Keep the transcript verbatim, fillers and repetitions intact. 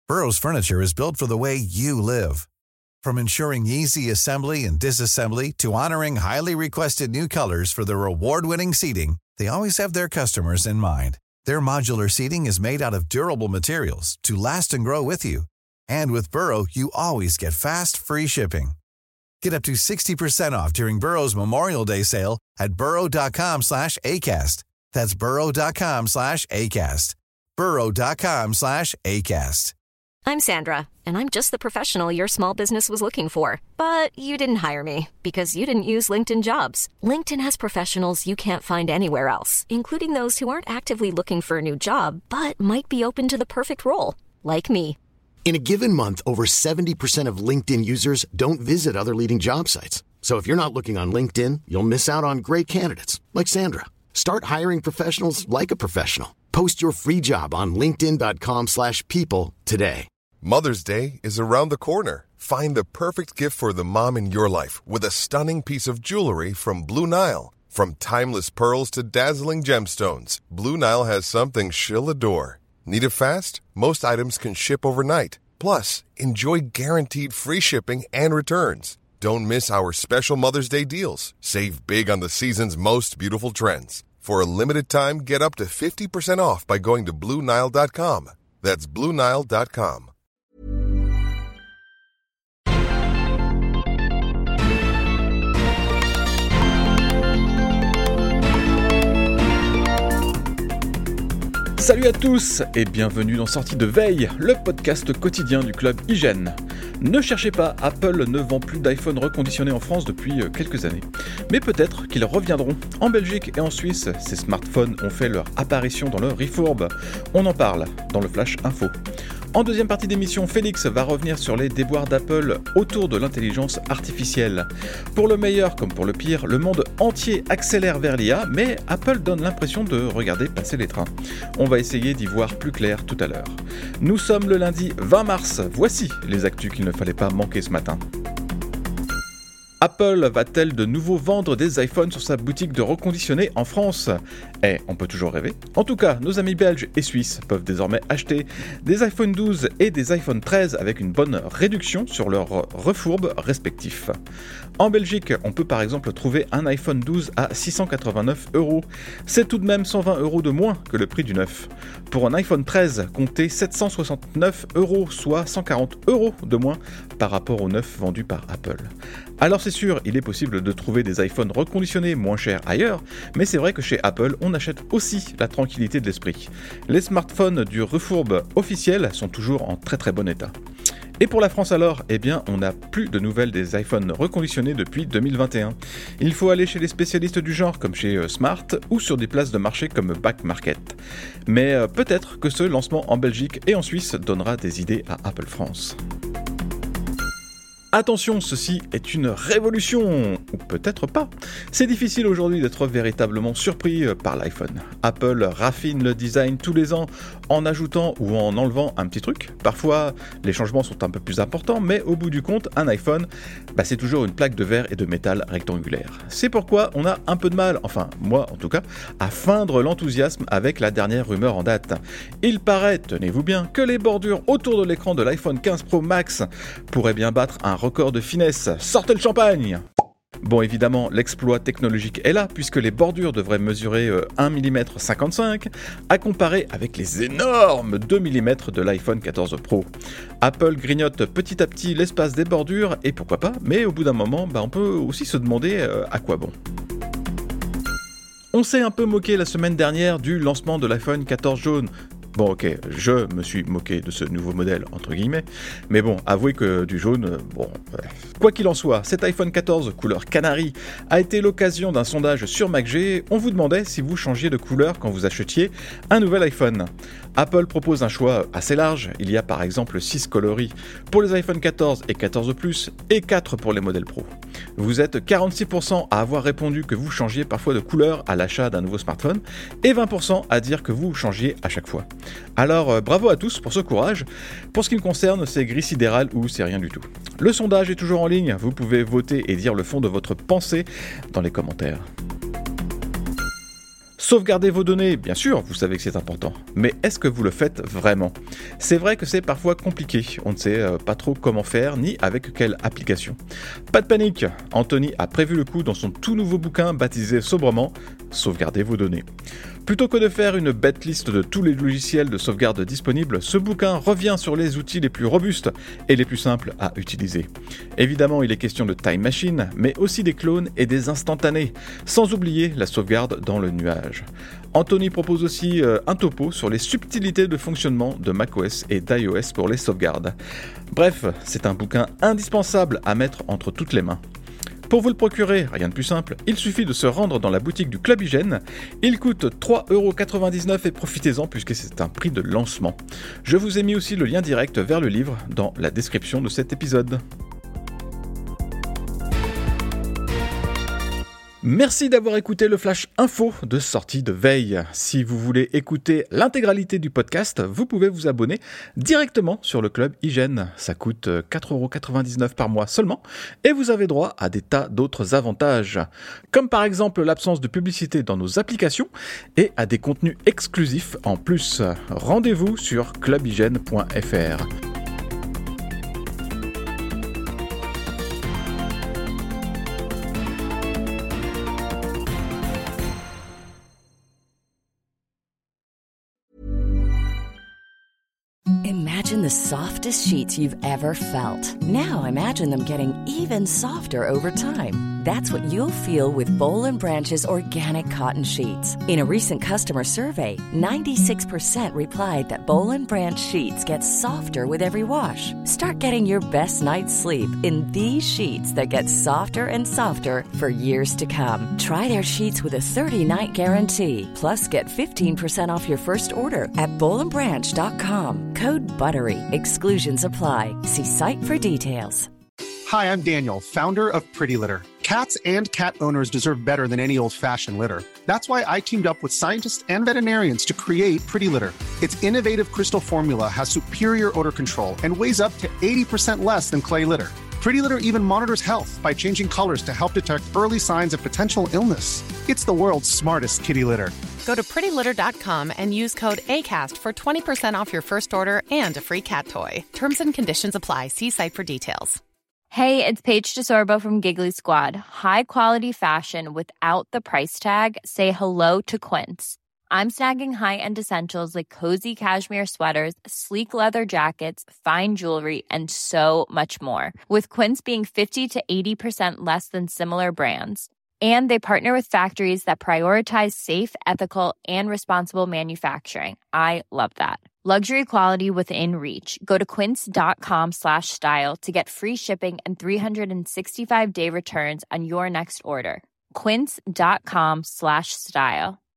Burrow's furniture is built for the way you live. From ensuring easy assembly and disassembly to honoring highly requested new colors for their award-winning seating, they always have their customers in mind. Their modular seating is made out of durable materials to last and grow with you. And with Burrow, you always get fast, free shipping. Get up to sixty percent off during Burrow's Memorial Day sale at burrow.com slash ACAST. That's burrow.com slash ACAST. burrow.com slash ACAST. I'm Sandra, and I'm just the professional your small business was looking for. But you didn't hire me because you didn't use LinkedIn Jobs. LinkedIn has professionals you can't find anywhere else, including those who aren't actively looking for a new job, but might be open to the perfect role, like me. In a given month, over seventy percent of LinkedIn users don't visit other leading job sites. So if you're not looking on LinkedIn, you'll miss out on great candidates like Sandra. Start hiring professionals like a professional. Post your free job on linkedin.com slash people today. Mother's Day is around the corner. Find the perfect gift for the mom in your life with a stunning piece of jewelry from Blue Nile. From timeless pearls to dazzling gemstones, Blue Nile has something she'll adore. Need it fast? Most items can ship overnight. Plus, enjoy guaranteed free shipping and returns. Don't miss our special Mother's Day deals. Save big on the season's most beautiful trends. For a limited time, get up to fifty percent off by going to blue nile dot com. That's blue nile dot com. Salut à tous et bienvenue dans Sortie de Veille, le podcast quotidien du club Hygiène. Ne cherchez pas, Apple ne vend plus d'iPhone reconditionné en France depuis quelques années. Mais peut-être qu'ils reviendront. En Belgique et en Suisse, ces smartphones ont fait leur apparition dans le Refourb. On en parle dans le Flash Info. En deuxième partie d'émission, Félix va revenir sur les déboires d'Apple autour de l'intelligence artificielle. Pour le meilleur comme pour le pire, le monde entier accélère vers l'I A, mais Apple donne l'impression de regarder passer les trains. On va essayer d'y voir plus clair tout à l'heure. Nous sommes le lundi vingt mars, voici les actus qu'il ne fallait pas manquer ce matin. Apple va-t-elle de nouveau vendre des iPhones sur sa boutique de reconditionnés en France ? Eh, on peut toujours rêver. En tout cas, nos amis belges et suisses peuvent désormais acheter des iPhone douze et des iPhone treize avec une bonne réduction sur leurs refourbes respectifs. En Belgique, on peut par exemple trouver un iPhone douze à six cent quatre-vingt-neuf euros. C'est tout de même cent vingt euros de moins que le prix du neuf. Pour un iPhone treize, comptez sept cent soixante-neuf euros, soit cent quarante euros de moins par rapport au neuf vendu par Apple. Alors c'est sûr, il est possible de trouver des iPhones reconditionnés moins chers ailleurs, mais c'est vrai que chez Apple, on achète aussi la tranquillité de l'esprit. Les smartphones du Refourb officiel sont toujours en très très bon état. Et pour la France alors, eh bien, on n'a plus de nouvelles des iPhones reconditionnés depuis deux mille vingt et un. Il faut aller chez les spécialistes du genre comme chez Smart ou sur des places de marché comme Back Market. Mais euh, peut-être que ce lancement en Belgique et en Suisse donnera des idées à Apple France. Attention, ceci est une révolution, ou peut-être pas. C'est difficile aujourd'hui d'être véritablement surpris par l'iPhone. Apple raffine le design tous les ans en ajoutant ou en enlevant un petit truc. Parfois, les changements sont un peu plus importants, mais au bout du compte, un iPhone, bah, c'est toujours une plaque de verre et de métal rectangulaire. C'est pourquoi on a un peu de mal, enfin moi en tout cas, à feindre l'enthousiasme avec la dernière rumeur en date. Il paraît, tenez-vous bien, que les bordures autour de l'écran de l'iPhone quinze Pro Max pourraient bien battre un record de finesse. Sortez le champagne! Bon, évidemment, l'exploit technologique est là, puisque les bordures devraient mesurer euh, un virgule cinquante-cinq millimètres, à comparer avec les énormes deux millimètres de l'iPhone quatorze Pro. Apple grignote petit à petit l'espace des bordures, et pourquoi pas, mais au bout d'un moment, bah, on peut aussi se demander euh, à quoi bon. On s'est un peu moqué la semaine dernière du lancement de l'iPhone quatorze jaune. Bon ok, je me suis moqué de ce nouveau modèle, entre guillemets, mais bon, avouez que du jaune, bon... Bref. Quoi qu'il en soit, cet iPhone quatorze couleur canari a été l'occasion d'un sondage sur MacG. On vous demandait si vous changiez de couleur quand vous achetiez un nouvel iPhone. Apple propose un choix assez large, il y a par exemple six coloris pour les iPhone quatorze et quatorze Plus et quatre pour les modèles Pro. Vous êtes quarante-six pour cent à avoir répondu que vous changiez parfois de couleur à l'achat d'un nouveau smartphone et vingt pour cent à dire que vous changiez à chaque fois. Alors euh, bravo à tous pour ce courage. Pour ce qui me concerne, c'est gris sidéral ou c'est rien du tout. Le sondage est toujours en ligne, vous pouvez voter et dire le fond de votre pensée dans les commentaires. Sauvegardez vos données, bien sûr, vous savez que c'est important, mais est-ce que vous le faites vraiment ? C'est vrai que c'est parfois compliqué, on ne sait euh, pas trop comment faire, ni avec quelle application. Pas de panique, Anthony a prévu le coup dans son tout nouveau bouquin baptisé sobrement « Sauvegardez vos données ». Plutôt que de faire une bête liste de tous les logiciels de sauvegarde disponibles, ce bouquin revient sur les outils les plus robustes et les plus simples à utiliser. Évidemment, il est question de Time Machine, mais aussi des clones et des instantanés, sans oublier la sauvegarde dans le nuage. Anthony propose aussi euh, un topo sur les subtilités de fonctionnement de macOS et d'iOS pour les sauvegardes. Bref, c'est un bouquin indispensable à mettre entre toutes les mains. Pour vous le procurer, rien de plus simple, il suffit de se rendre dans la boutique du Club Hygiène. Il coûte trois euros quatre-vingt-dix-neuf et profitez-en puisque c'est un prix de lancement. Je vous ai mis aussi le lien direct vers le livre dans la description de cet épisode. Merci d'avoir écouté le Flash Info de sortie de veille. Si vous voulez écouter l'intégralité du podcast, vous pouvez vous abonner directement sur le Club Hygiène. Ça coûte quatre euros quatre-vingt-dix-neuf par mois seulement et vous avez droit à des tas d'autres avantages. Comme par exemple l'absence de publicité dans nos applications et à des contenus exclusifs en plus. Rendez-vous sur club hygiène point f r. Imagine the softest sheets you've ever felt. Now imagine them getting even softer over time. That's what you'll feel with Boll and Branch's organic cotton sheets. In a recent customer survey, ninety-six percent replied that Boll and Branch sheets get softer with every wash. Start getting your best night's sleep in these sheets that get softer and softer for years to come. Try their sheets with a thirty-night guarantee. Plus, get fifteen percent off your first order at boll and branch dot com. Code BUTTERY. Exclusions apply. See site for details. Hi, I'm Daniel, founder of Pretty Litter. Cats and cat owners deserve better than any old-fashioned litter. That's why I teamed up with scientists and veterinarians to create Pretty Litter. Its innovative crystal formula has superior odor control and weighs up to eighty percent less than clay litter. Pretty Litter even monitors health by changing colors to help detect early signs of potential illness. It's the world's smartest kitty litter. Go to pretty litter dot com and use code ACAST for twenty percent off your first order and a free cat toy. Terms and conditions apply. See site for details. Hey, it's Paige DeSorbo from Giggly Squad. High quality fashion without the price tag. Say hello to Quince. I'm snagging high-end essentials like cozy cashmere sweaters, sleek leather jackets, fine jewelry, and so much more. With Quince being fifty to eighty percent less than similar brands. And they partner with factories that prioritize safe, ethical, and responsible manufacturing. I love that. Luxury quality within reach. Go to quince.com slash style to get free shipping and three sixty-five day returns on your next order. Quince.com slash style.